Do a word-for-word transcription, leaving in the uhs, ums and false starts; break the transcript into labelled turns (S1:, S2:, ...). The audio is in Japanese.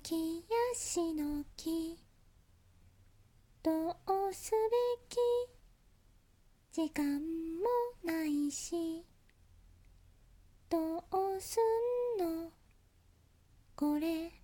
S1: ぎやしのきどうすべき時間もないしどうすんのこれ